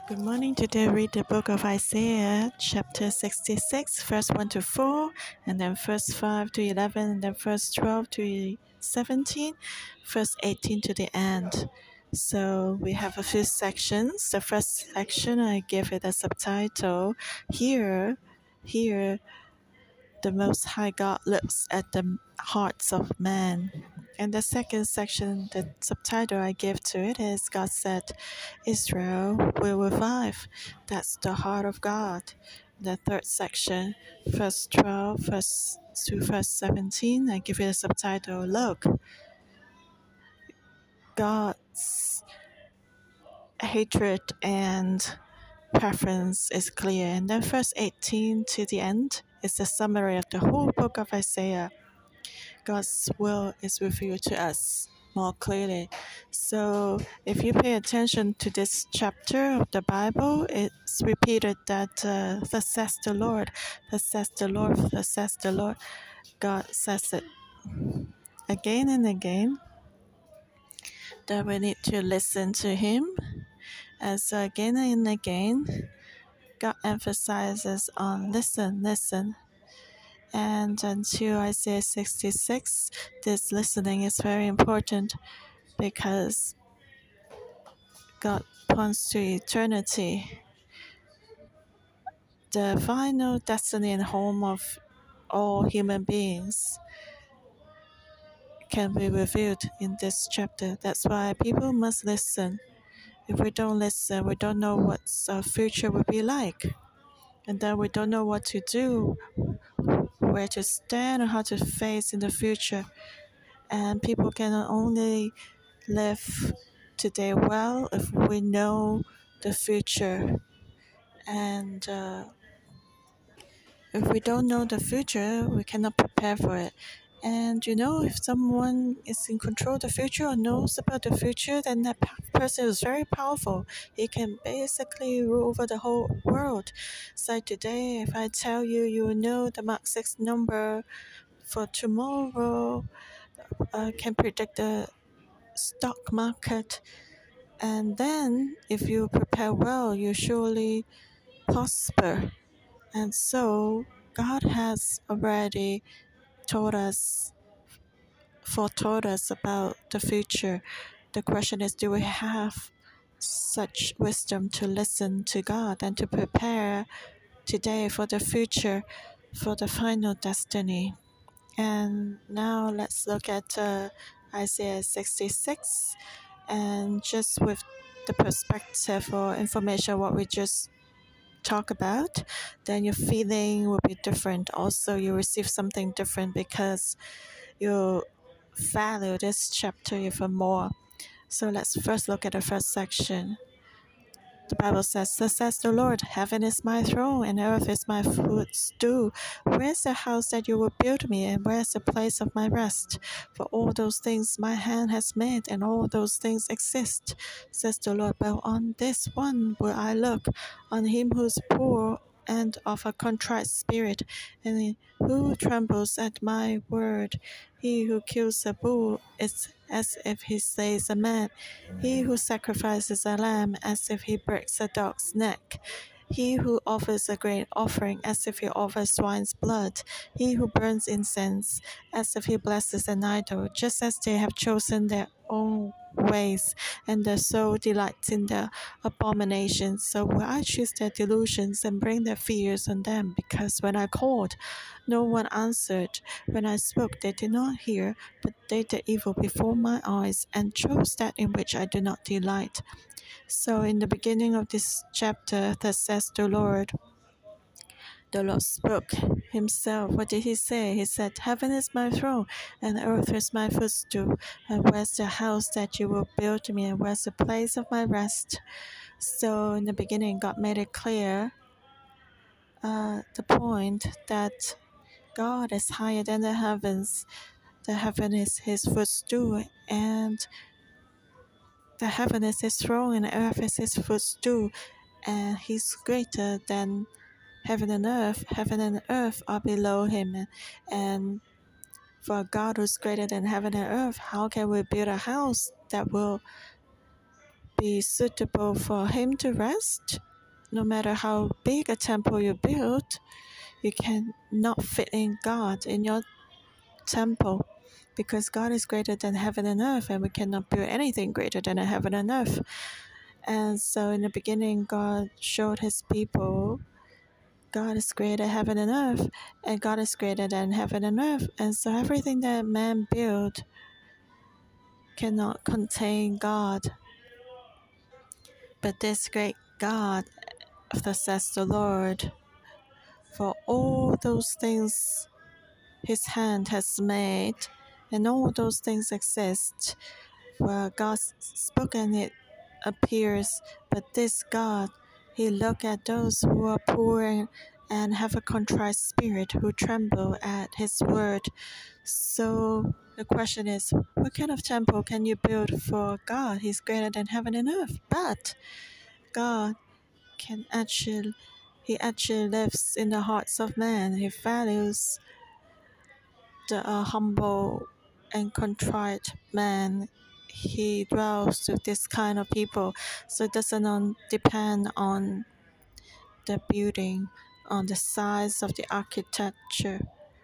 Good morning. Today read the book of Isaiah, chapter 66, verse 1 to 4, and then verse 5 to 11, and then verse 12 to 17, verse 18 to the end. So we have a few sections. The first section, I give it a subtitle, Here, the Most High God looks at the hearts of men. And the second section, the subtitle I give to it is God said, Israel will revive. That's the heart of God. The third section, verse 12 to verse 17, I give it a subtitle, Look, God's hatred and preference is clear. And then verse 18 to the end is a summary of the whole book of Isaiah. God's will is revealed to us more clearly. So if you pay attention to this chapter of the Bible, it's repeated that thus says the Lord, thus says the Lord, thus says the Lord. God says it again and again, that we need to listen to Him. As again and again, God emphasizes on listen, listen. And until Isaiah 66, this listening is very important because God points to eternity, the final destiny and home of all human beings can be revealed in this chapter. That's why people must listen. If we don't listen, we don't know what our future will be like. And then we don't know what to do, where to stand, or how to face in the future. And people can only live today well if we know the future. And if we don't know the future, we cannot prepare for it. And if someone is in control of the future or knows about the future, then that person is very powerful. He can basically rule over the whole world. So today, if I tell you, you will know the Mark 6 number for tomorrow, can predict the stock market. And then, if you prepare well, you surely prosper. And so, God has already foretold us about the future. The question is, do we have such wisdom to listen to God and to prepare today for the future, for the final destiny? And now let's look at Isaiah 66, and just with the perspective or information what we just talk about, then your feeling will be different. Also, you receive something different because you value this chapter even more. So let's first look at the first section. The Bible says, Thus says the Lord, heaven is my throne, and earth is my footstool. Where is the house that you will build me, and where is the place of my rest? For all those things my hand has made, and all those things exist, says the Lord. But on this one will I look, on him who is poor and of a contrite spirit, and who trembles at my word. He who kills a bull is as if he slays a man. He who sacrifices a lamb as if he breaks a dog's neck. He who offers a grain offering as if he offers swine's blood. He who burns incense as if he blesses an idol, just as they have chosen their own ways, and their soul delights in their abominations. So will I choose their delusions and bring their fears on them? Because when I called, no one answered. When I spoke, they did not hear, but they did evil before my eyes, and chose that in which I do not delight. So in the beginning of this chapter, thus says the Lord spoke himself. What did he say? He said, Heaven is my throne, and earth is my footstool. And where's the house that you will build me, and where's the place of my rest? So in the beginning, God made it clear the point that God is higher than the heavens. The heaven is his footstool, and the heaven is his throne, and the earth is his footstool. And he's greater than heaven and earth. Heaven and earth are below him. And for God who's greater than heaven and earth, how can we build a house that will be suitable for Him to rest. No matter how big a temple you build, you cannot fit in God in your temple, because God is greater than heaven and earth, and we cannot build anything greater than heaven and earth. And so in the beginning, God showed His people God is greater than heaven and earth, and God is greater than heaven and earth. And so everything that man built cannot contain God. But this great God, thus says the Lord, for all those things His hand has made, and all those things exist, where God's spoken it appears. But this God, He look at those who are poor and have a contrite spirit, who tremble at His word. So the question is, what kind of temple can you build for God? He's greater than heaven and earth. But God He actually lives in the hearts of man. He values the humble and contrite man. He dwells with this kind of people. So it doesn't depend on the building, on the size of the architecture.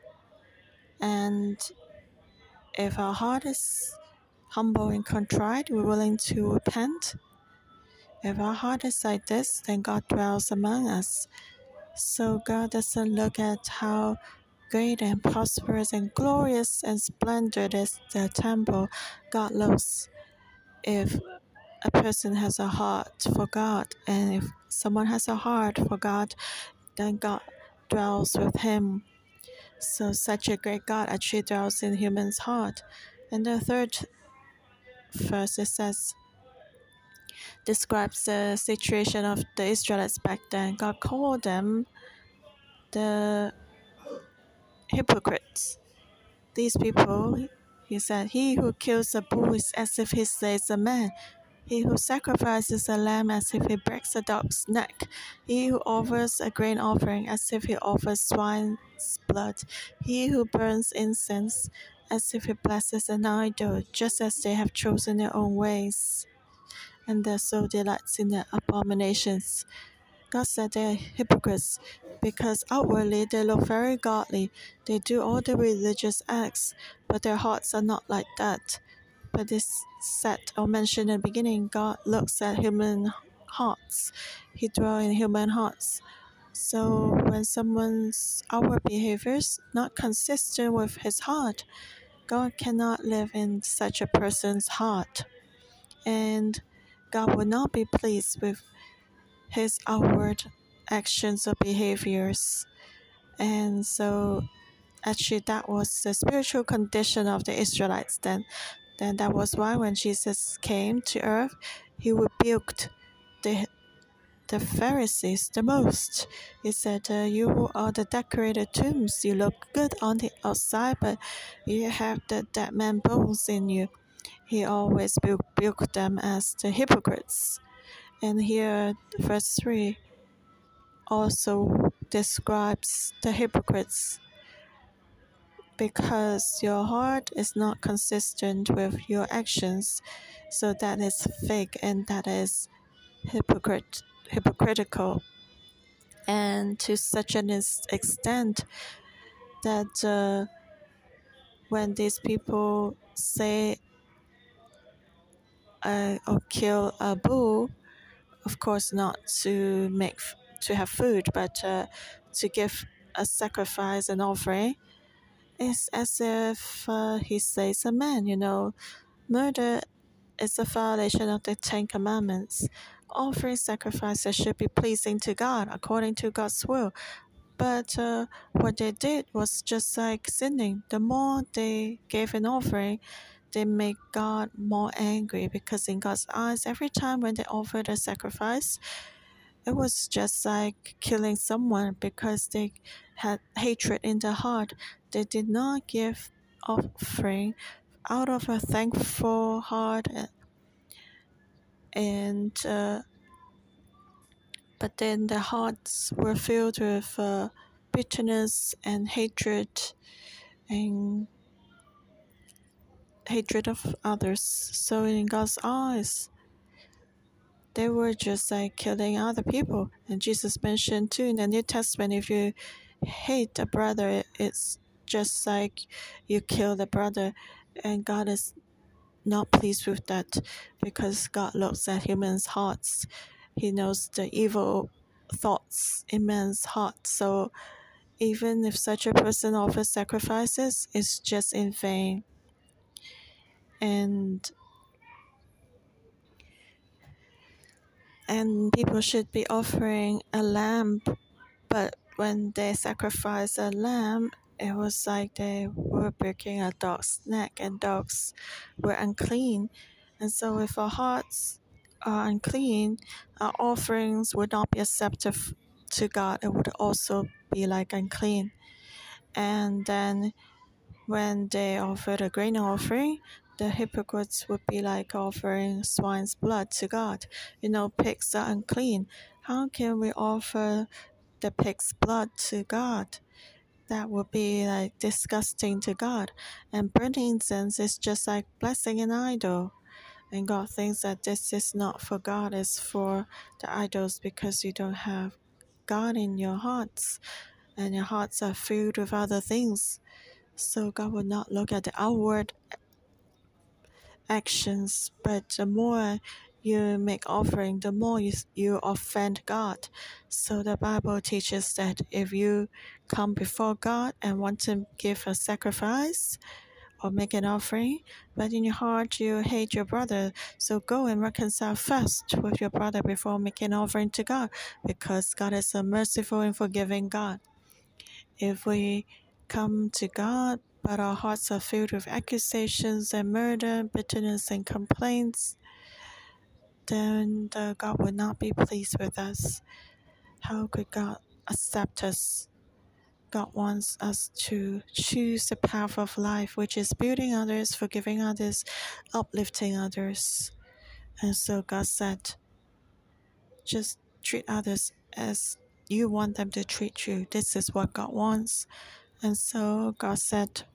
And if our heart is humble and contrite, we're willing to repent. If our heart is like this, then God dwells among us. So God doesn't look at how great and prosperous and glorious and splendid is the temple. God looks if a person has a heart for God, and if someone has a heart for God, then God dwells with him. So such a great God actually dwells in human's heart. And the third verse, it says, describes the situation of the Israelites back then. God called them the hypocrites. These people, He said, he who kills a bull is as if he slays a man. He who sacrifices a lamb as if he breaks a dog's neck. He who offers a grain offering as if he offers swine's blood. He who burns incense as if he blesses an idol, just as they have chosen their own ways, and their soul delights in their abominations. God said they're hypocrites because outwardly they look very godly. They do all the religious acts, but their hearts are not like that. But this said or mentioned in the beginning, God looks at human hearts. He dwells in human hearts. So when someone's outward behavior is not consistent with his heart, God cannot live in such a person's heart. And God will not be pleased with his outward actions or behaviors. And so actually that was the spiritual condition of the Israelites then. Then that was why when Jesus came to earth, he rebuked the Pharisees the most. He said, you are the decorated tombs. You look good on the outside, but you have the dead man bones in you. He always rebuked them as the hypocrites. And here, verse 3 also describes the hypocrites, because your heart is not consistent with your actions, so that is fake and that is hypocritical. And to such an extent that when these people say or kill a bull, of course not to have food, but to give a sacrifice and offering, it's as if he slays a man. Murder is a violation of the Ten Commandments. Offering sacrifices should be pleasing to God, according to God's will. But what they did was just like sinning. The more they gave an offering, they make God more angry, because in God's eyes, every time when they offered a sacrifice, it was just like killing someone, because they had hatred in their heart. They did not give offering out of a thankful heart, and but then their hearts were filled with bitterness and and hatred of others. So in God's eyes, they were just like killing other people. And Jesus mentioned too in the New Testament, if you hate a brother, it's just like you kill the brother. And God is not pleased with that, because God looks at humans' hearts. He knows the evil thoughts in man's heart. So even if such a person offers sacrifices, it's just in vain. And people should be offering a lamb, but when they sacrifice a lamb, it was like they were breaking a dog's neck, and dogs were unclean. And so if our hearts are unclean, our offerings would not be accepted to God. It would also be like unclean. And then when they offered a grain offering, the hypocrites would be like offering swine's blood to God. Pigs are unclean. How can we offer the pig's blood to God? That would be like disgusting to God. And burning incense is just like blessing an idol. And God thinks that this is not for God, it's for the idols, because you don't have God in your hearts, and your hearts are filled with other things. So God will not look at the outward actions, but the more you make offering, the more you offend God. So the Bible teaches that if you come before God and want to give a sacrifice or make an offering, but in your heart you hate your brother, so go and reconcile first with your brother before making an offering to God, because God is a merciful and forgiving God. If we come to God, but our hearts are filled with accusations and murder, bitterness and complaints, then God will not be pleased with us. How could God accept us? God wants us to choose the path of life, which is building others, forgiving others, uplifting others. And so God said, just treat others as you want them to treat you. This is what God wants. And so God said,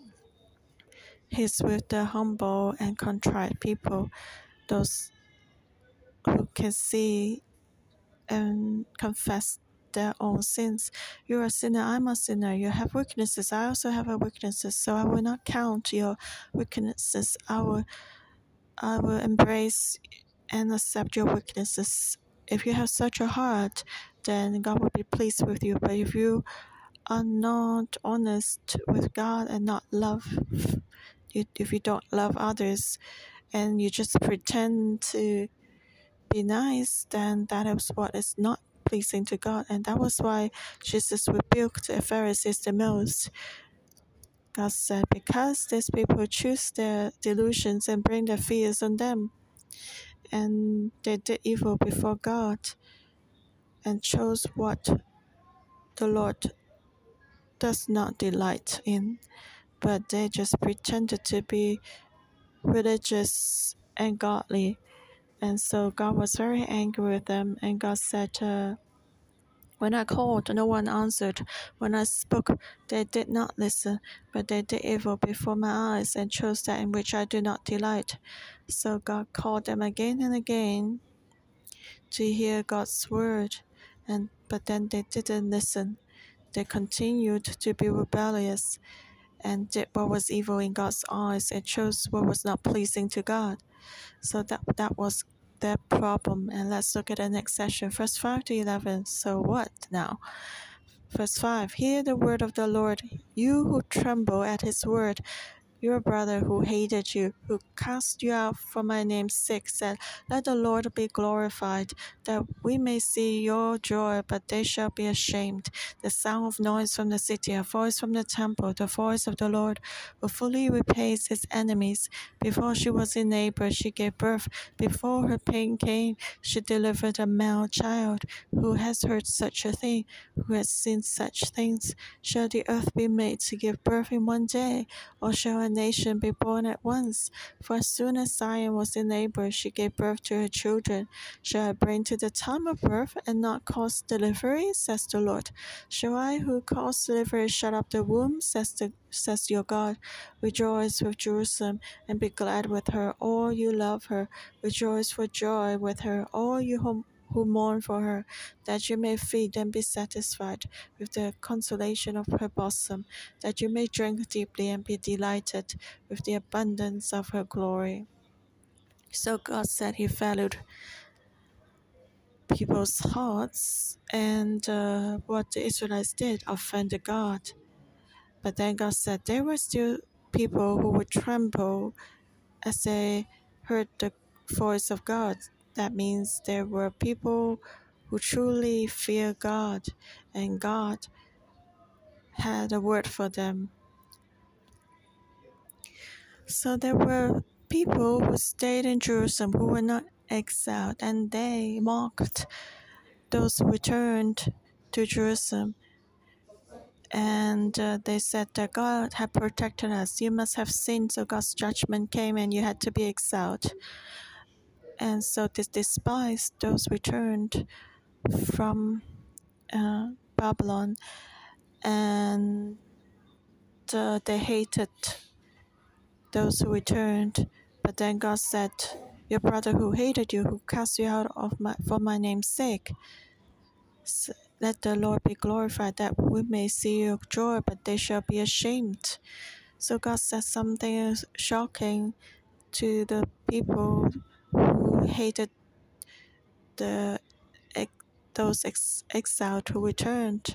He's with the humble and contrite people, those who can see and confess their own sins. You're a sinner, I'm a sinner. You have weaknesses, I also have weaknesses. So I will not count your weaknesses. I will embrace and accept your weaknesses. If you have such a heart, then God will be pleased with you. But if you are not honest with God and not love, if you don't love others and you just pretend to be nice, then that is what is not pleasing to God. And that was why Jesus rebuked the Pharisees the most. God said, because these people choose their delusions and bring their fears on them, and they did evil before God and chose what the Lord does not delight in, but they just pretended to be religious and godly. And so God was very angry with them, and God said, when I called, no one answered. When I spoke, they did not listen, but they did evil before my eyes and chose that in which I do not delight. So God called them again and again to hear God's word, but then they didn't listen. They continued to be rebellious and did what was evil in God's eyes and chose what was not pleasing to God. So that was their problem. And let's look at the next session, verse 5 to 11. So what now? Verse 5, hear the word of the Lord, you who tremble at his word. Your brother who hated you, who cast you out for my name's sake, said, let the Lord be glorified, that we may see your joy, but they shall be ashamed. The sound of noise from the city, a voice from the temple, the voice of the Lord, who fully repays his enemies. Before she was in labor, she gave birth. Before her pain came, she delivered a male child. Who has heard such a thing? Who has seen such things? Shall the earth be made to give birth in one day? Or shall an nation be born at once. For as soon as Zion was in labor, she gave birth to her children. Shall I bring to the time of birth and not cause delivery? Says the Lord. Shall I who cause delivery shut up the womb? Says your God. Rejoice with Jerusalem and be glad with her, all you love her. Rejoice for joy with her, all you who mourn for her, that you may feed and be satisfied with the consolation of her bosom, that you may drink deeply and be delighted with the abundance of her glory. So God said He valued people's hearts, and what the Israelites did offended God. But then God said there were still people who would tremble as they heard the voice of God. That means there were people who truly fear God, and God had a word for them. So there were people who stayed in Jerusalem who were not exiled, and they mocked those who returned to Jerusalem. And they said that God had protected us. You must have sinned, so God's judgment came and you had to be exiled. And so they despised those returned from Babylon, and they hated those who returned. But then God said, your brother who hated you, who cast you out for my name's sake, let the Lord be glorified, that we may see your joy, but they shall be ashamed. So God said something shocking to the people who hated those exiled who returned.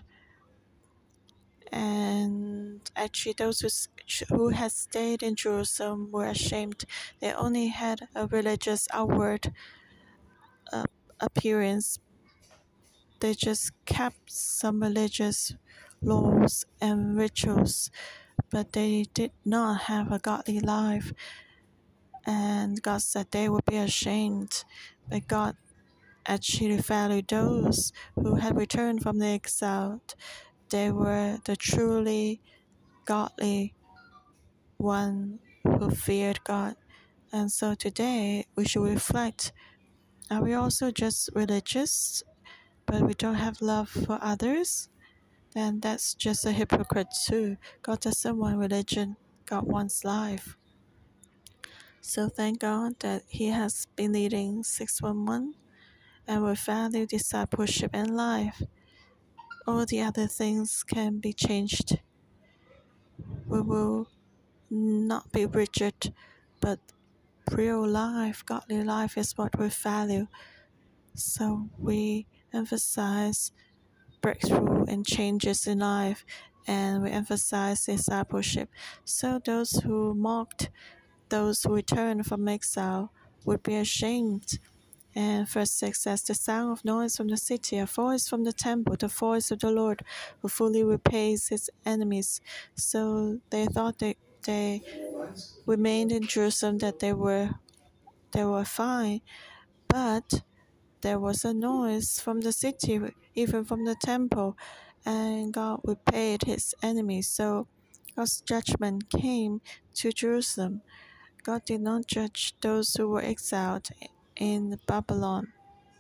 And actually, those who had stayed in Jerusalem were ashamed. They only had a religious outward appearance. They just kept some religious laws and rituals, but they did not have a godly life. And God said they would be ashamed. But God actually valued those who had returned from the exile. They were the truly godly one who feared God. And so today we should reflect, are we also just religious, but we don't have love for others? Then that's just a hypocrite too. God doesn't want religion, God wants life. So thank God that He has been leading 611 and will value discipleship and life. All the other things can be changed. We will not be rigid, but real life, godly life is what we value. So we emphasize breakthrough and changes in life, and we emphasize discipleship. So those who mocked those who returned from exile would be ashamed. And verse 6 says, the sound of noise from the city, a voice from the temple, the voice of the Lord, who fully repays his enemies. So they thought that they remained in Jerusalem, that they were fine, but there was a noise from the city, even from the temple, and God repaid his enemies. So God's judgment came to Jerusalem. God did not judge those who were exiled in Babylon.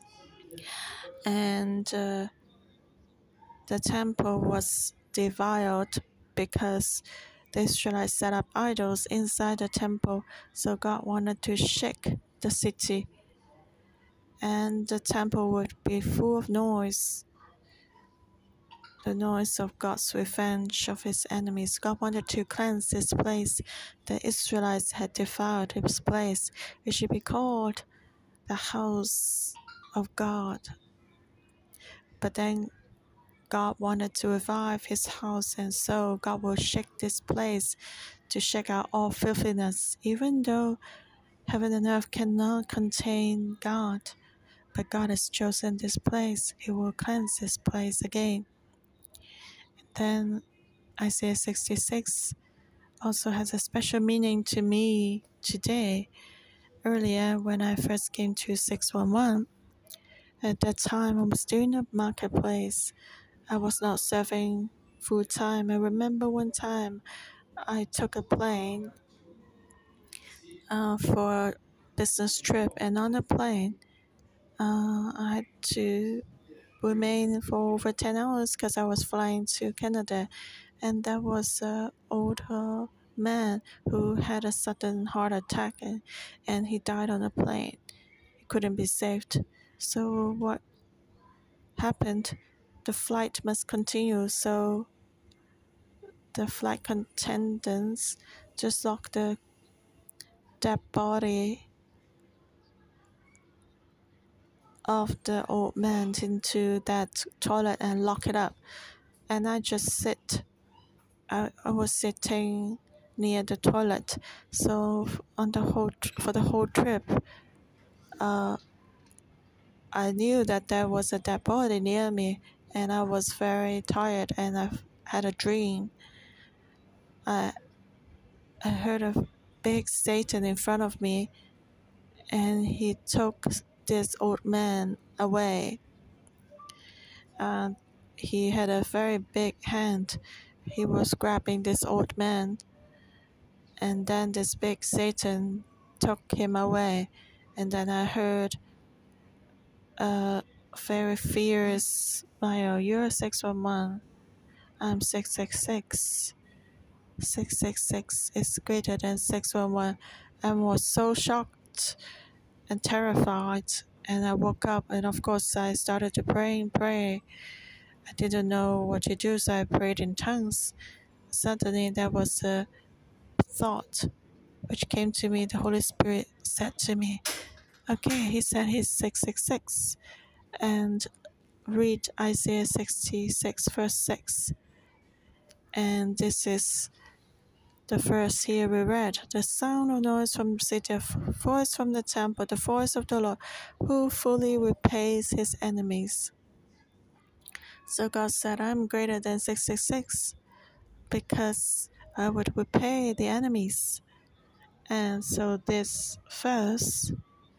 And the temple was defiled because the Israelites set up idols inside the temple. So God wanted to shake the city, and the temple would be full of noise, the noise of God's revenge of his enemies. God wanted to cleanse this place. The Israelites had defiled his place. It should be called the house of God. But then God wanted to revive his house, and so God will shake this place to shake out all filthiness, even though heaven and earth cannot contain God. But God has chosen this place. He will cleanse this place again. Then Isaiah 66 also has a special meaning to me today. Earlier, when I first came to 611, at that time I was doing a marketplace. I was not serving full time. I remember one time I took a plane for a business trip, and on the plane, I had to remain for over 10 hours because I was flying to Canada, and there was an older man who had a sudden heart attack, and he died on the plane. He couldn't be saved. So what happened? The flight must continue, so the flight attendants just locked the dead body of the old man into that toilet and lock it up. And I just I was sitting near the toilet. So for the whole trip, I knew that there was a dead body near me, and I was very tired, and I had a dream. I heard a big Satan in front of me, and he took this old man away. And he had a very big hand. He was grabbing this old man, and then this big Satan took him away. And then I heard a very fierce smile. You're 611. I'm 666. 666 is greater than 611. I was so shocked and terrified. And I woke up, and of course I started to pray and pray. I didn't know what to do, so I prayed in tongues. Suddenly there was a thought which came to me. The Holy Spirit said to me, okay, he said he's 666, and read Isaiah 66 verse 6. And this is the verse here we read. The sound of noise from the city, a voice from the temple, the voice of the Lord, who fully repays his enemies. So God said, I'm greater than 666 because I would repay the enemies. And so this verse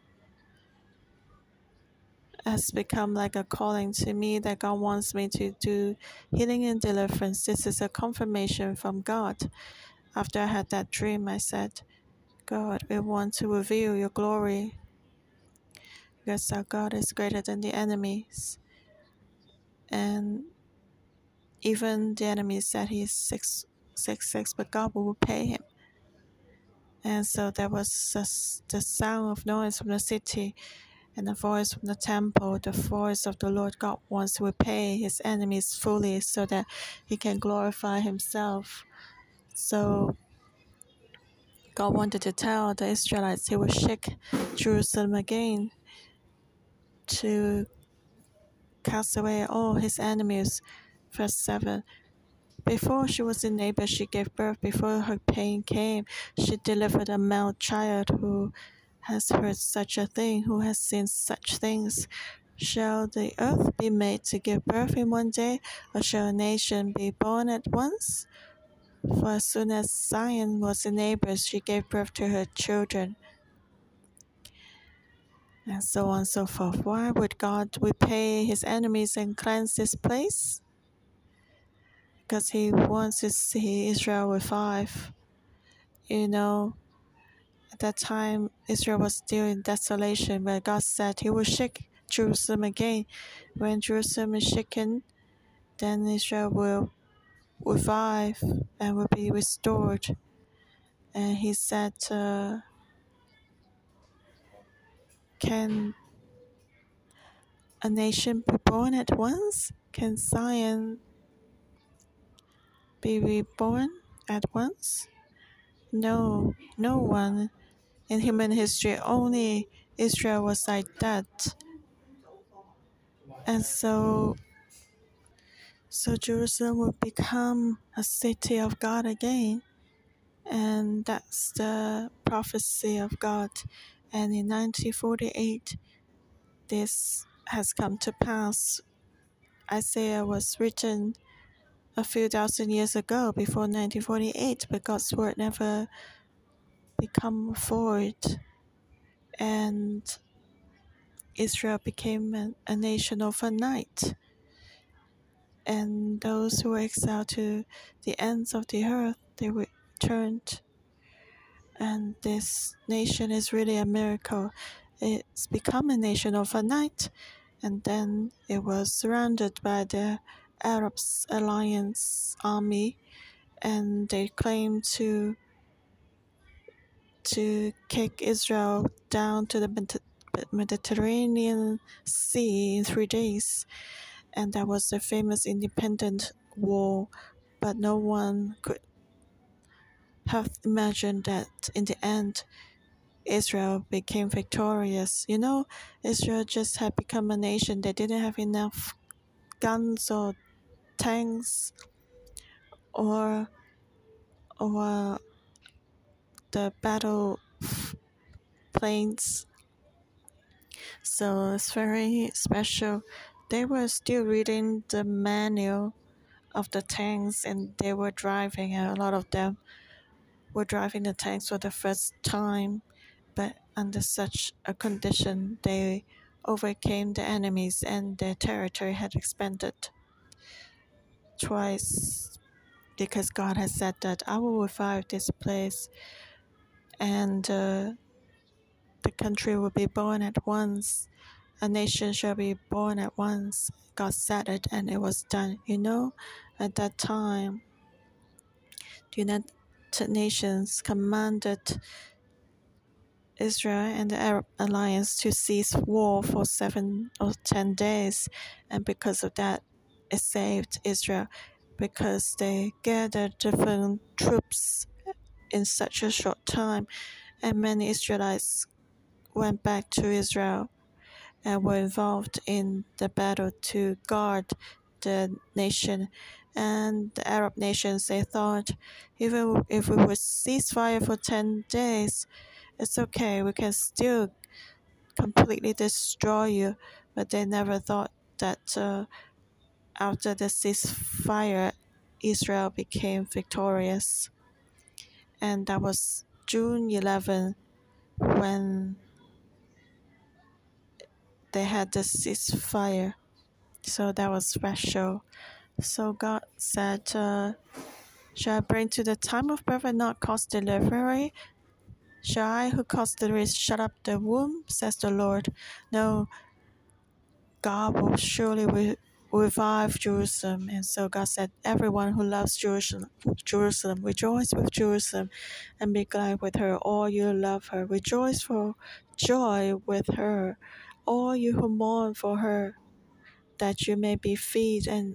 has become like a calling to me that God wants me to do healing and deliverance. This is a confirmation from God. After I had that dream, I said, God, we want to reveal your glory because our God is greater than the enemies. And even the enemy said he's 666, but God will repay him. And so there was the sound of noise from the city and the voice from the temple, the voice of the Lord. God wants to repay his enemies fully so that he can glorify himself. So God wanted to tell the Israelites he would shake Jerusalem again to cast away all his enemies. Verse 7. Before she was in labor, she gave birth. Before her pain came, she delivered a male child. Who has heard such a thing? Who has seen such things? Shall the earth be made to give birth in one day, or shall a nation be born at once? For as soon as Zion was in labor, she gave birth to her children. And so on and so forth. Why would God repay his enemies and cleanse this place? Because he wants to see Israel revive. At that time, Israel was still in desolation, where God said he will shake Jerusalem again. When Jerusalem is shaken, then Israel will revive and will be restored. And he said, can a nation be born at once? Can Zion be reborn at once? No, no one in human history. Only Israel was like that. And so Jerusalem will become a city of God again. And that's the prophecy of God. And in 1948, this has come to pass. Isaiah was written a few thousand years ago, before 1948, but God's word never become void. And Israel became a nation overnight. And those who were exiled to the ends of the earth, they returned And this nation is really a miracle. It's become a nation overnight, and then it was surrounded by the Arabs Alliance army, and they claimed to kick Israel down to the Mediterranean Sea in 3 days. And that was the famous independent war. But no one could have imagined that in the end, Israel became victorious. You know, Israel just had become a nation. They didn't have enough guns or tanks or the battle planes. So it's very special. They were still reading the manual of the tanks, and they were driving. A lot of them were driving the tanks for the first time, but under such a condition, they overcame the enemies, and their territory had expanded twice because God has said that I will revive this place, and the country will be born at once. A nation shall be born at once. God said it, and it was done. You know, at that time, the United Nations commanded Israel and the Arab alliance to cease war for 7 or 10 days, and because of that, it saved Israel because they gathered different troops in such a short time, and many Israelites went back to Israel and were involved in the battle to guard the nation. And the Arab nations, they thought, even if we would cease fire for 10 days, it's okay, we can still completely destroy you. But they never thought that after the ceasefire, Israel became victorious. And that was June 11 when they had the ceasefire. So that was special. So God said, shall I bring to the time of birth and not cause delivery? Shall I, who caused delivery, shut up the womb? Says the Lord. No, God will surely revive Jerusalem. And so God said, everyone who loves Jerusalem, rejoice with Jerusalem and be glad with her. All you love her, rejoice for joy with her. All you who mourn for her, that you may feed and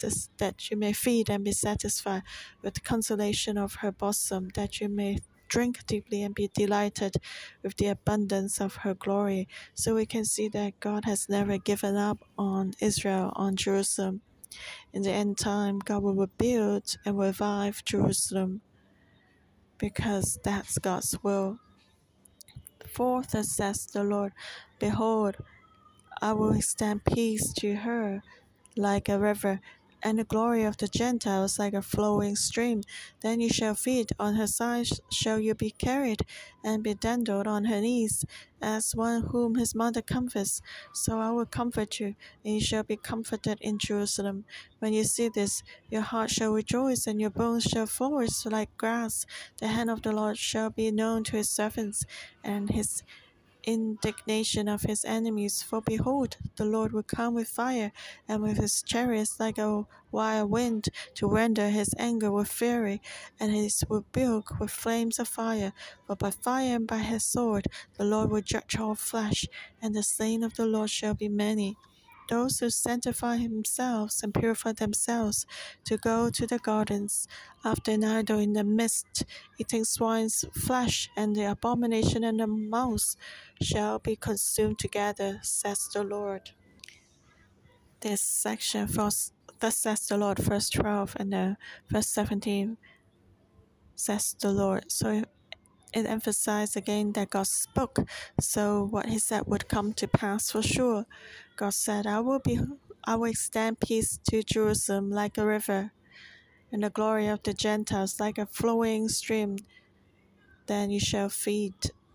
be satisfied with the consolation of her bosom, that you may drink deeply and be delighted with the abundance of her glory. So we can see that God has never given up on Israel, on Jerusalem. In the end time, God will rebuild and revive Jerusalem because that's God's will. For thus says the Lord, behold, I will extend peace to her like a river, and the glory of the Gentiles like a flowing stream. Then you shall feed, on her sides shall you be carried, and be dandled on her knees, as one whom his mother comforts. So I will comfort you, and you shall be comforted in Jerusalem. When you see this, your heart shall rejoice, and your bones shall flourish like grass. The hand of the Lord shall be known to his servants, and his indignation of his enemies. For behold, the Lord will come with fire, and with his chariots like a wild wind, to render his anger with fury, and his rebuke with flames of fire. For by fire and by his sword the Lord will judge all flesh, and the slain of the Lord shall be many. Those who sanctify themselves and purify themselves, to go to the gardens, after an idol in the midst, eating swine's flesh, and the abomination and the mouse shall be consumed together, says the Lord. This section, thus says the Lord, verse 12, and verse 17, says the Lord. So it emphasized again that God spoke, so what he said would come to pass for sure. God said, I will extend peace to Jerusalem like a river, and the glory of the Gentiles like a flowing stream. Then you shall feed.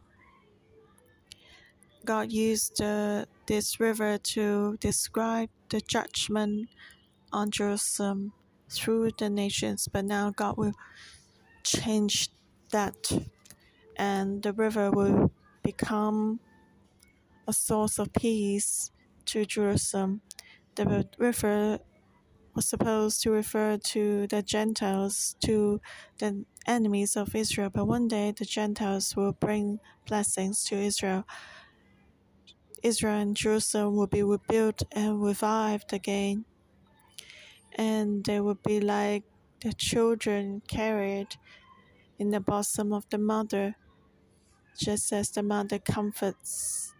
God used this river to describe the judgment on Jerusalem through the nations, but now God will change that and the river will become a source of peace to Jerusalem. The river was supposed to refer to the Gentiles, to the enemies of Israel, but one day the Gentiles will bring blessings to Israel. Israel and Jerusalem will be rebuilt and revived again, and they will be like the children carried in the bosom of the mother, just as the mother comforts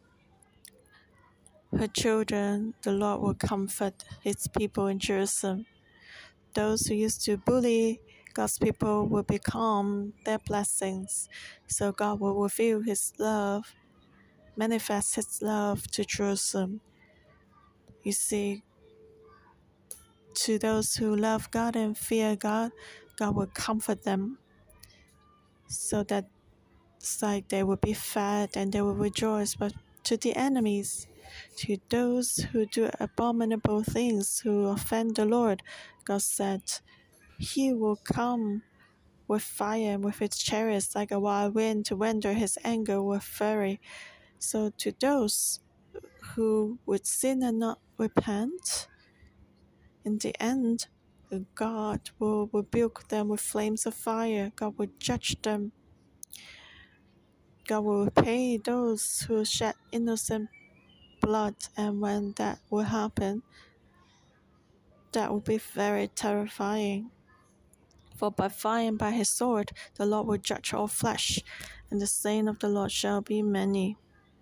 her children. The Lord will comfort His people in Jerusalem. Those who used to bully God's people will become their blessings. So God will reveal His love, manifest His love to Jerusalem. You see, to those who love God and fear God, God will comfort them so that it's like they will be fed and they will rejoice. But to the enemies, to those who do abominable things, who offend the Lord, God said, He will come with fire and with its chariots like a wild wind to render His anger with fury. So to those who would sin and not repent, in the end, God will rebuke them with flames of fire. God will judge them. God will repay those who shed innocent blood. And when that will happen, that will be very terrifying. For by fire and by His sword, the Lord will judge all flesh, and the slain of the Lord shall be many.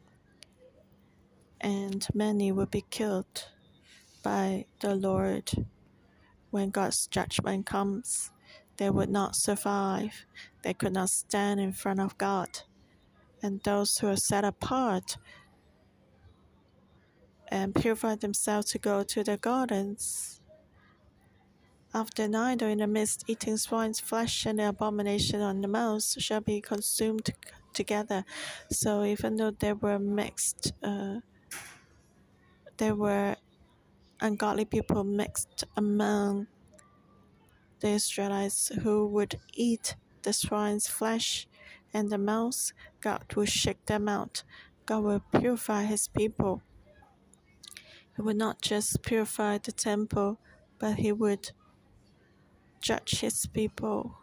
And many will be killed by the Lord. When God's judgment comes, they would not survive. They could not stand in front of God. And those who are set apart and purify themselves to go to the gardens, after night or in the midst, eating swine's flesh and the abomination on the mouth shall be consumed together. So even though they were mixed, there were ungodly people mixed among the Israelites who would eat the swine's flesh and the mouse, God will shake them out. God will purify His people. He would not just purify the temple, but He would judge His people.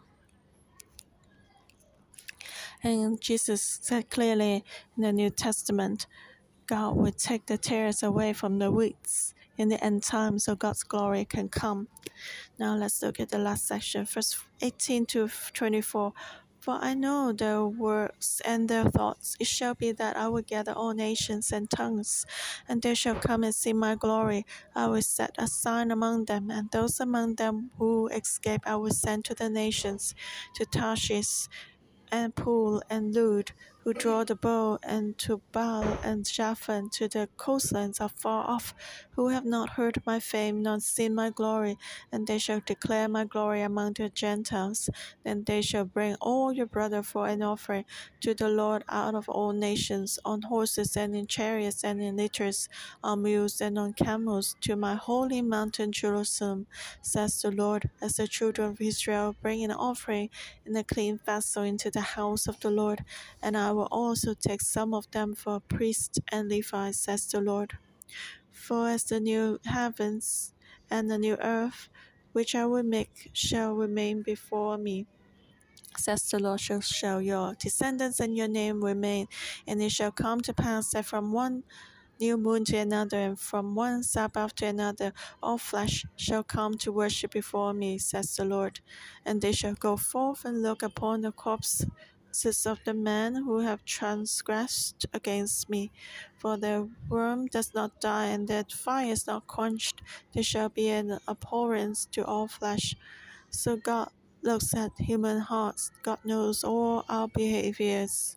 And Jesus said clearly in the New Testament, God would take the tares away from the weeds in the end time so God's glory can come. Now let's look at the last section, verse 18 to 24. For I know their works and their thoughts. It shall be that I will gather all nations and tongues, and they shall come and see my glory. I will set a sign among them, and those among them who escape I will send to the nations, to Tarshish and Pool and Lud, who draw the bow, and to Baal and Japhon, to the coastlands afar off, who have not heard my fame, nor seen my glory, and they shall declare my glory among the Gentiles. Then they shall bring all your brother for an offering to the Lord out of all nations, on horses and in chariots and in litters, on mules and on camels, to my holy mountain Jerusalem, says the Lord, as the children of Israel bring an offering in a clean vessel into the house of the Lord, and I will also take some of them for priests and Levites, says the Lord. For as the new heavens and the new earth, which I will make, shall remain before me, says the Lord, so shall your descendants and your name remain, and it shall come to pass that from one new moon to another, and from one Sabbath to another, all flesh shall come to worship before me, says the Lord. And they shall go forth and look upon the corpses of the men who have transgressed against me. For their worm does not die, and their fire is not quenched. They shall be an abhorrence to all flesh. So God looks at human hearts. God knows all our behaviors.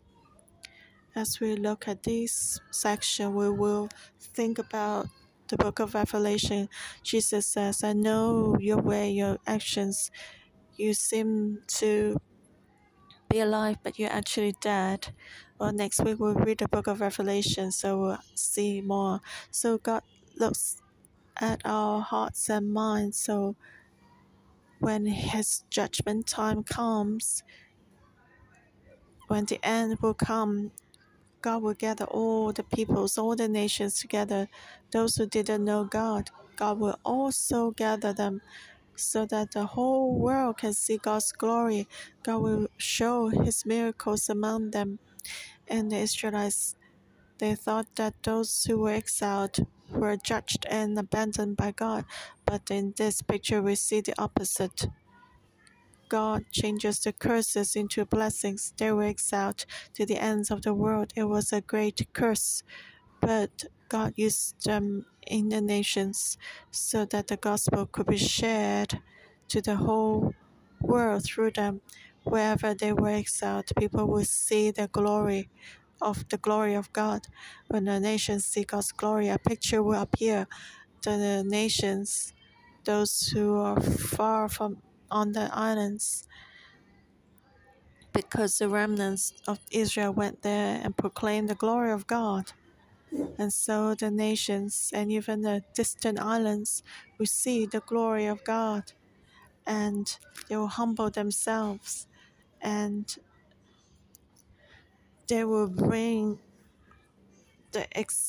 As we look at this section, we will think about the book of Revelation. Jesus says, I know your way, your actions. You seem to be alive, but you're actually dead. Well, next week we'll read the book of Revelation, so we'll see more. So God looks at our hearts and minds. So when His judgment time comes, when the end will come, God will gather all the peoples, all the nations together. Those who didn't know God, God will also gather them so that the whole world can see God's glory. God will show his miracles among them. And the Israelites, they thought that those who were exiled were judged and abandoned by God. But in this picture, we see the opposite. God changes the curses into blessings. They were exiled to the ends of the world. It was a great curse, but God used them in the nations so that the gospel could be shared to the whole world through them. Wherever they were exiled, people would see the glory of God. When the nations see God's glory, a picture will appear to the nations, those who are far from on the islands, because the remnants of Israel went there and proclaimed the glory of God. And so the nations and even the distant islands will see the glory of God, and they will humble themselves, and they will bring the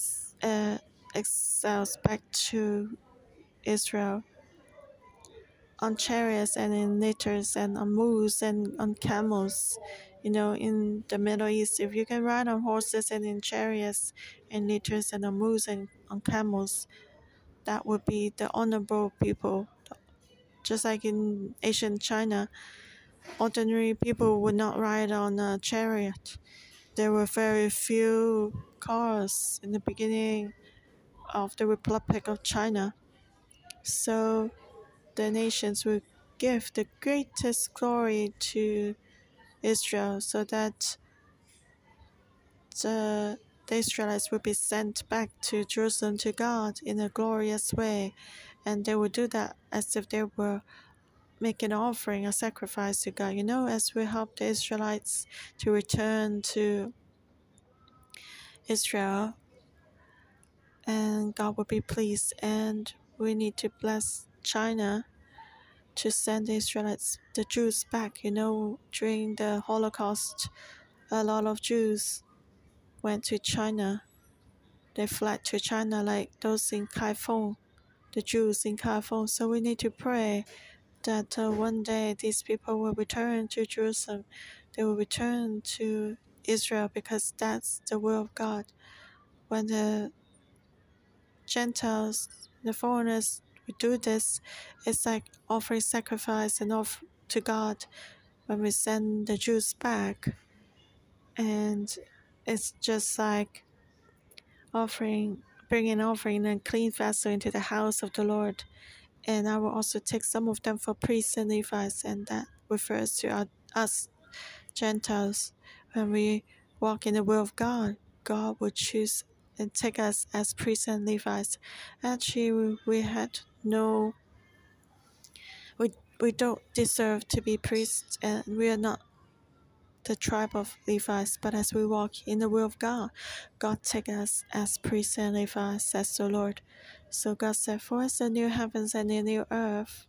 exiles back to Israel on chariots and in litters and on mules and on camels. In the Middle East, if you can ride on horses and in chariots and litters and on mules and on camels, that would be the honorable people. Just like in ancient China, ordinary people would not ride on a chariot. There were very few cars in the beginning of the Republic of China. So the nations would give the greatest glory to Israel so that the Israelites would be sent back to Jerusalem to God in a glorious way. And they would do that as if they were making an offering, a sacrifice to God. As we help the Israelites to return to Israel, and God will be pleased. And we need to bless China to send the Israelites, the Jews back. During the Holocaust, a lot of Jews went to China. They fled to China like those in Kaifeng, the Jews in Kaifeng. So we need to pray that one day these people will return to Jerusalem. They will return to Israel because that's the will of God. When the Gentiles, the foreigners, we do this, it's like offering sacrifice and offer to God when we send the Jews back. And it's just like bringing an offering and clean vessel into the house of the Lord. And I will also take some of them for priests and Levites, and that refers to us Gentiles. When we walk in the will of God, God will choose and take us as priests and Levites. Actually, we had no, we don't deserve to be priests, and we are not the tribe of Levites, but as we walk in the will of God, God take us as priests and Levites, says the Lord. So God said, for us the new heavens and the new earth,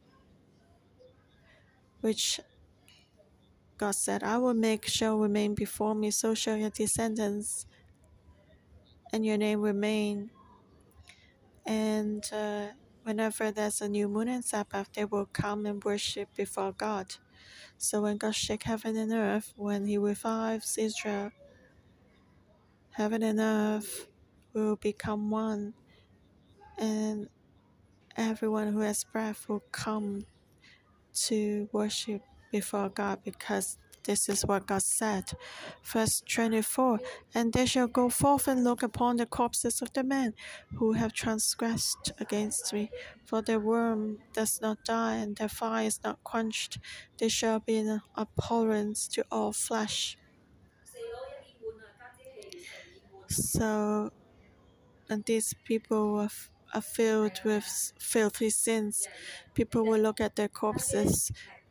which God said, I will make shall remain before me, so shall your descendants and your name remain. And whenever there's a new moon and Sabbath, they will come and worship before God. So when God shakes heaven and earth, when He revives Israel, heaven and earth will become one, and everyone who has breath will come to worship before God, because this is what God said. Verse 24, and they shall go forth and look upon the corpses of the men who have transgressed against me, for their worm does not die and their fire is not quenched. They shall be an abhorrence to all flesh. So, and these people are filled with filthy sins. People will look at their corpses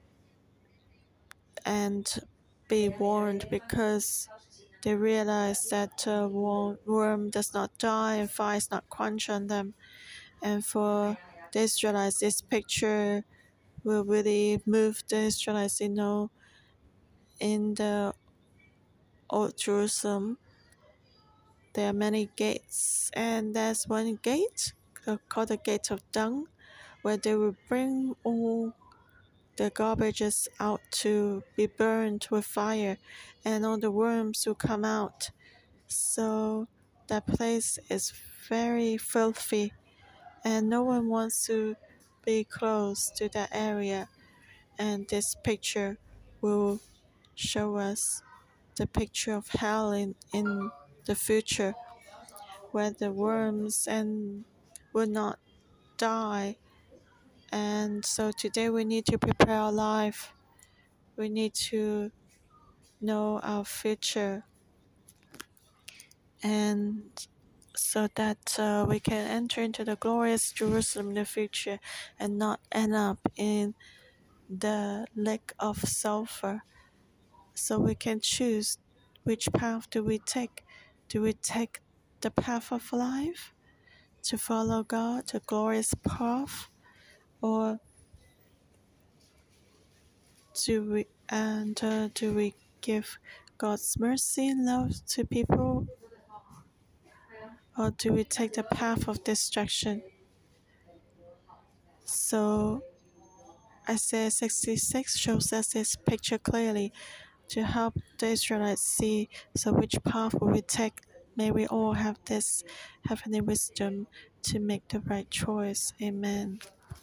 and be warned, because they realize that worm does not die and fire is not quenched on them. And for the Israelites, this picture will really move the Israelites. In the Old Jerusalem, there are many gates, and there's one gate called the Gate of Dung, where they will bring all the garbages out to be burned with fire, and all the worms will come out. So that place is very filthy, and no one wants to be close to that area. And this picture will show us the picture of hell in the future, where the worms and will not die. And so today we need to prepare our life. We need to know our future, and so that we can enter into the glorious Jerusalem in the future and not end up in the lake of sulfur. So we can choose which path do we take. Do we take the path of life to follow God, the glorious path, or do we give God's mercy and love to people, or do we take the path of destruction? So Isaiah 66 shows us this picture clearly to help the Israelites see. So which path will we take? May we all have this heavenly wisdom to make the right choice. Amen.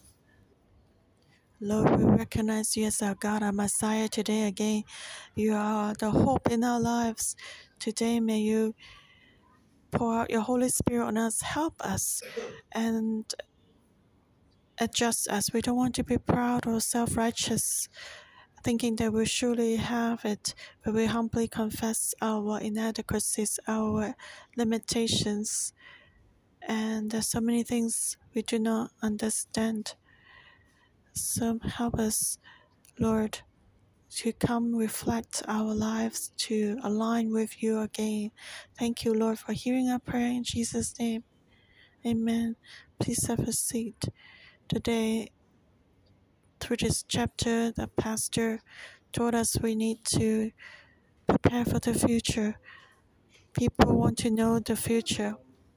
Lord, we recognize you as our God, our Messiah today again. You are the hope in our lives. Today, may you pour out your Holy Spirit on us, help us, and adjust us. We don't want to be proud or self-righteous, thinking that we surely have it, but we humbly confess our inadequacies, our limitations, and there's so many things we do not understand. So help us, Lord, to come reflect our lives to align with you again. Thank you, Lord, for hearing our prayer in Jesus' name. Amen. Please have a seat. Today, through this chapter, the pastor told us we need to prepare for the future. People want to know the future.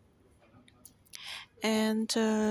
And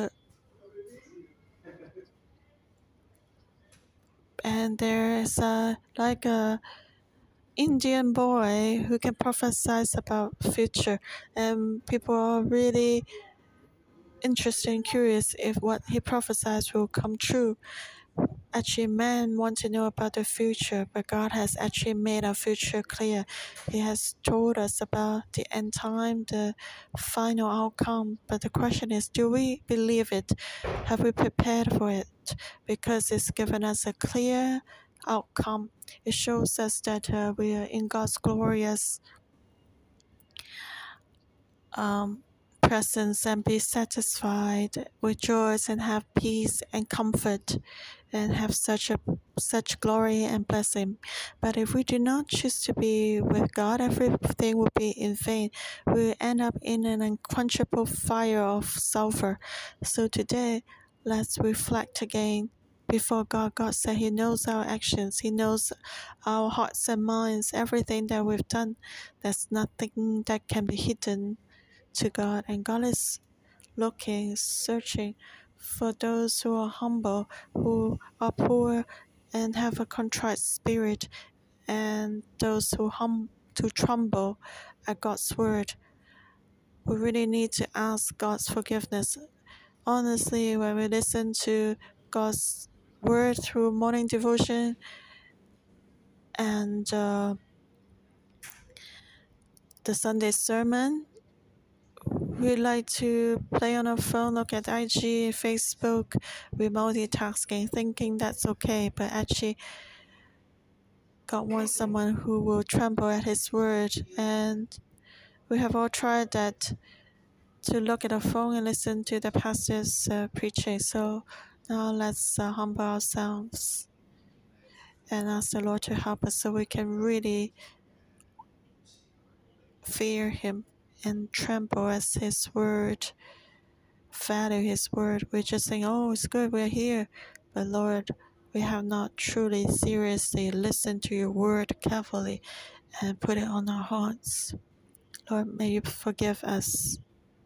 there's like a Indian boy who can prophesy about future, and people are really interested and curious if what he prophesies will come true. Actually, men want to know about the future, but God has actually made our future clear. He has told us about the end time, the final outcome. But the question is, do we believe it? Have we prepared for it? Because it's given us a clear outcome. It shows us that we are in God's glorious presence, and be satisfied, rejoice and have peace and comfort, and have such glory and blessing. But if we do not choose to be with God, everything will be in vain. We will end up in an unquenchable fire of sulfur. So today, let's reflect again before God. God said He knows our actions. He knows our hearts and minds, everything that we've done. There's nothing that can be hidden to God, and God is looking, searching for those who are humble, who are poor, and have a contrite spirit, and those who tremble at God's word. We really need to ask God's forgiveness. Honestly, when we listen to God's word through morning devotion and the Sunday sermon, we like to play on our phone, look at IG, Facebook, we're multitasking, thinking that's okay, but actually God wants someone who will tremble at His word. And we have all tried that, to look at our phone and listen to the pastor's preaching. So now let's humble ourselves and ask the Lord to help us so we can really fear Him and tremble as His word, value His word. We're just saying, oh, it's good, we're here. But Lord, we have not truly, seriously listened to your word carefully and put it on our hearts. Lord, may you forgive us.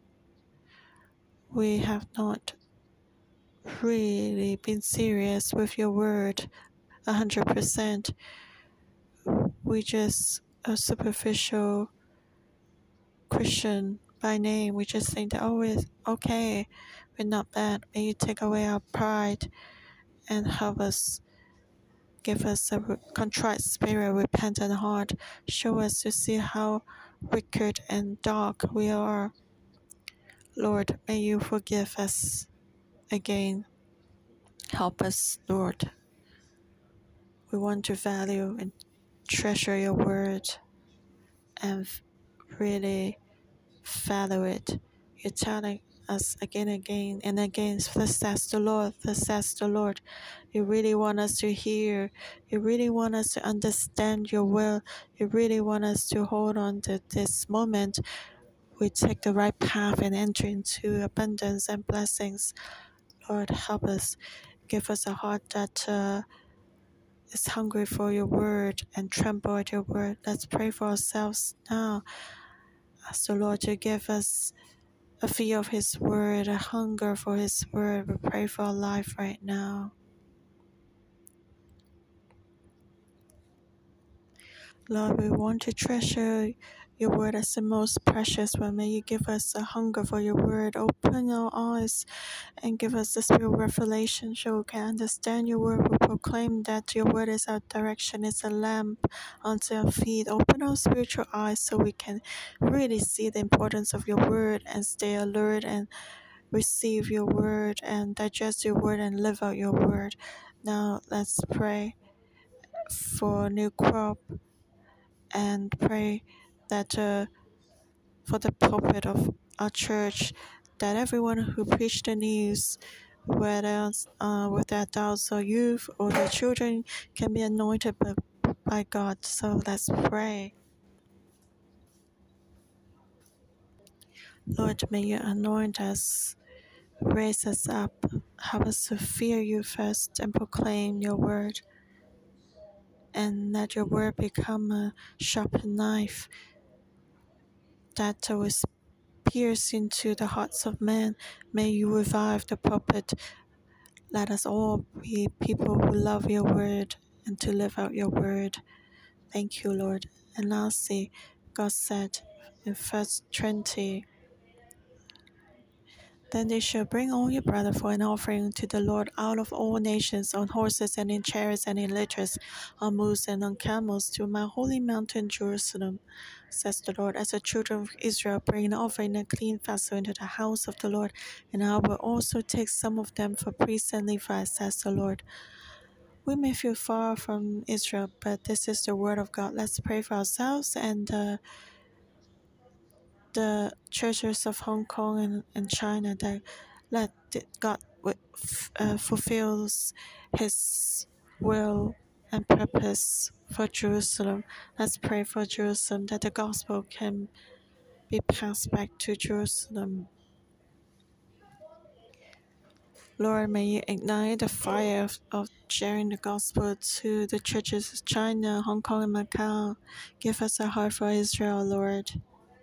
We have not really been serious with your word 100%. We just a superficial Christian by name. We just think that, oh, it's okay, we're not bad. May you take away our pride and help us, give us a contrite spirit, repentant heart. Show us to see how wicked and dark we are. Lord, may you forgive us again. Help us, Lord. We want to value and treasure your word and really follow it. You're telling us again and again, thus says the Lord, thus says the Lord. You really want us to hear. You really want us to understand your will. You really want us to hold on to this moment. We take the right path and enter into abundance and blessings. Lord, help us. Give us a heart that is hungry for your word and tremble at your word. Let's pray for ourselves now. Ask the Lord to give us a fear of his word, a hunger for his word. We pray for our life right now. Lord, we want to treasure your word as the most precious one. May you give us a hunger for your word. Open our eyes and give us the spirit of revelation so we can understand your word. We proclaim that your word is our direction, it's a lamp unto our feet. Open our spiritual eyes so we can really see the importance of your word and stay alert and receive your word and digest your word and live out your word. Now let's pray for new crop and pray that for the pulpit of our church, that everyone who preach the news, whether with their adults or youth or their children, can be anointed by God. So let's pray. Lord, may you anoint us, raise us up, help us to fear you first and proclaim your word, and let your word become a sharp knife that will pierce into the hearts of men. May you revive the pulpit. Let us all be people who love your word and to live out your word. Thank you, Lord. And lastly, God said in verse 20, then they shall bring all your brother for an offering to the Lord out of all nations, on horses and in chariots and in litters, on mules and on camels, to my holy mountain Jerusalem, says the Lord. As the children of Israel bring an offering in a clean vessel into the house of the Lord, and I will also take some of them for priests and Levites, says the Lord. We may feel far from Israel, but this is the word of God. Let's pray for ourselves and the churches of Hong Kong and China, that let God fulfills His will and purpose for Jerusalem. Let's pray for Jerusalem, that the gospel can be passed back to Jerusalem. Lord, may you ignite the fire of sharing the gospel to the churches of China, Hong Kong, and Macau. Give us a heart for Israel, Lord.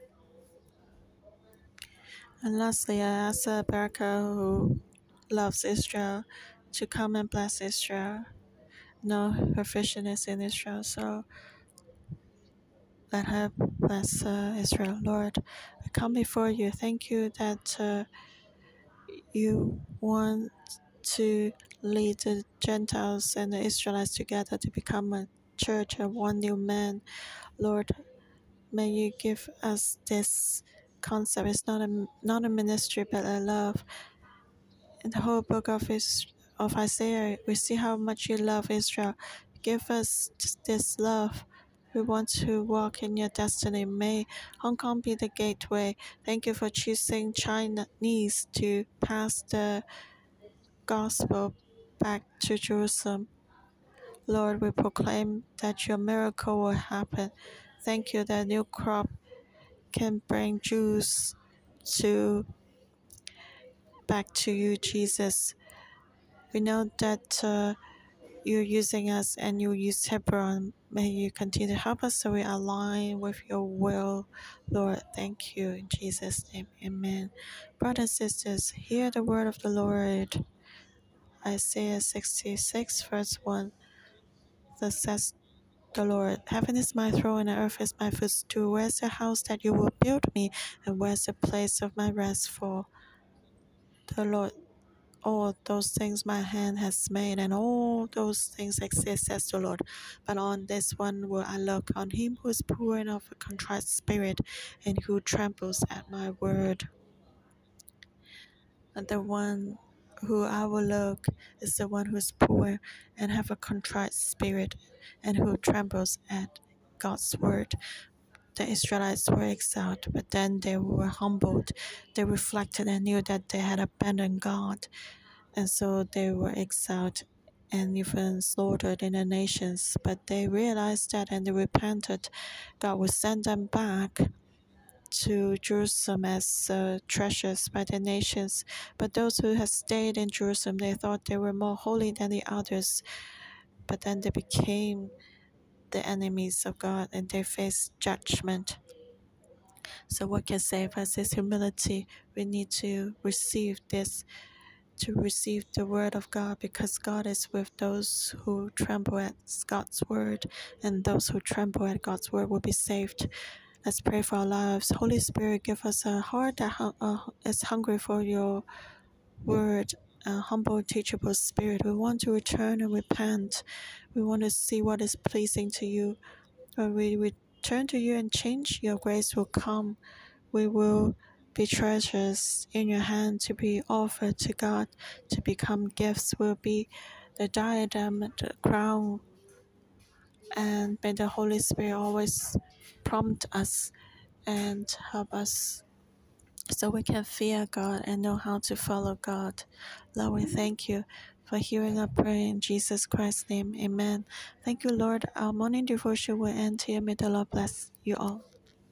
And lastly, I ask Baraka, who loves Israel, to come and bless Israel. No, her vision is in Israel, so let her bless Israel. Lord, I come before you. Thank you that you want to lead the Gentiles and the Israelites together to become a church of one new man. Lord, may you give us this concept. It's not a ministry, but a love. In the whole book of Isaiah, we see how much you love Israel. Give us this love. We want to walk in your destiny. May Hong Kong be the gateway. Thank you for choosing Chinese to pass the gospel back to Jerusalem. Lord, we proclaim that your miracle will happen. Thank you that new crop can bring Jews back to you, Jesus. We know that you're using us and you use Hebron. May you continue to help us so we align with your will, Lord. Thank you. In Jesus' name, amen. Brothers and sisters, hear the word of the Lord. Isaiah 66, verse 1. Thus says the Lord, heaven is my throne and earth is my footstool. Where's the house that you will build me? And where's the place of my rest for the Lord? All those things my hand has made, and all those things exist, says the Lord. But on this one will I look, on him who is poor and of a contrite spirit, and who trembles at my word. And the one who I will look is the one who is poor and have a contrite spirit, and who trembles at God's word. The Israelites were exiled, but then they were humbled. They reflected and knew that they had abandoned God, and so they were exiled and even slaughtered in the nations. But they realized that and they repented. God would send them back to Jerusalem as treasures by the nations. But those who had stayed in Jerusalem, they thought they were more holy than the others. But then they became the enemies of God and they faced judgment. So what can save us is humility. We need to receive this, to receive the word of God, because God is with those who tremble at God's word, and those who tremble at God's word will be saved. Let's pray for our lives. Holy Spirit, give us a heart that is hungry for your word, a humble, teachable spirit. We want to return and repent. We want to see what is pleasing to you. When we return to you and change, your grace will come. We will be treasures in your hand to be offered to God, to become gifts. Will be the diadem, the crown, and may the Holy Spirit always prompt us and help us so we can fear God and know how to follow God. Lord, we thank you for hearing our prayer in Jesus Christ's name. Amen. Thank you, Lord. Our morning devotion will end here. May the Lord bless you all.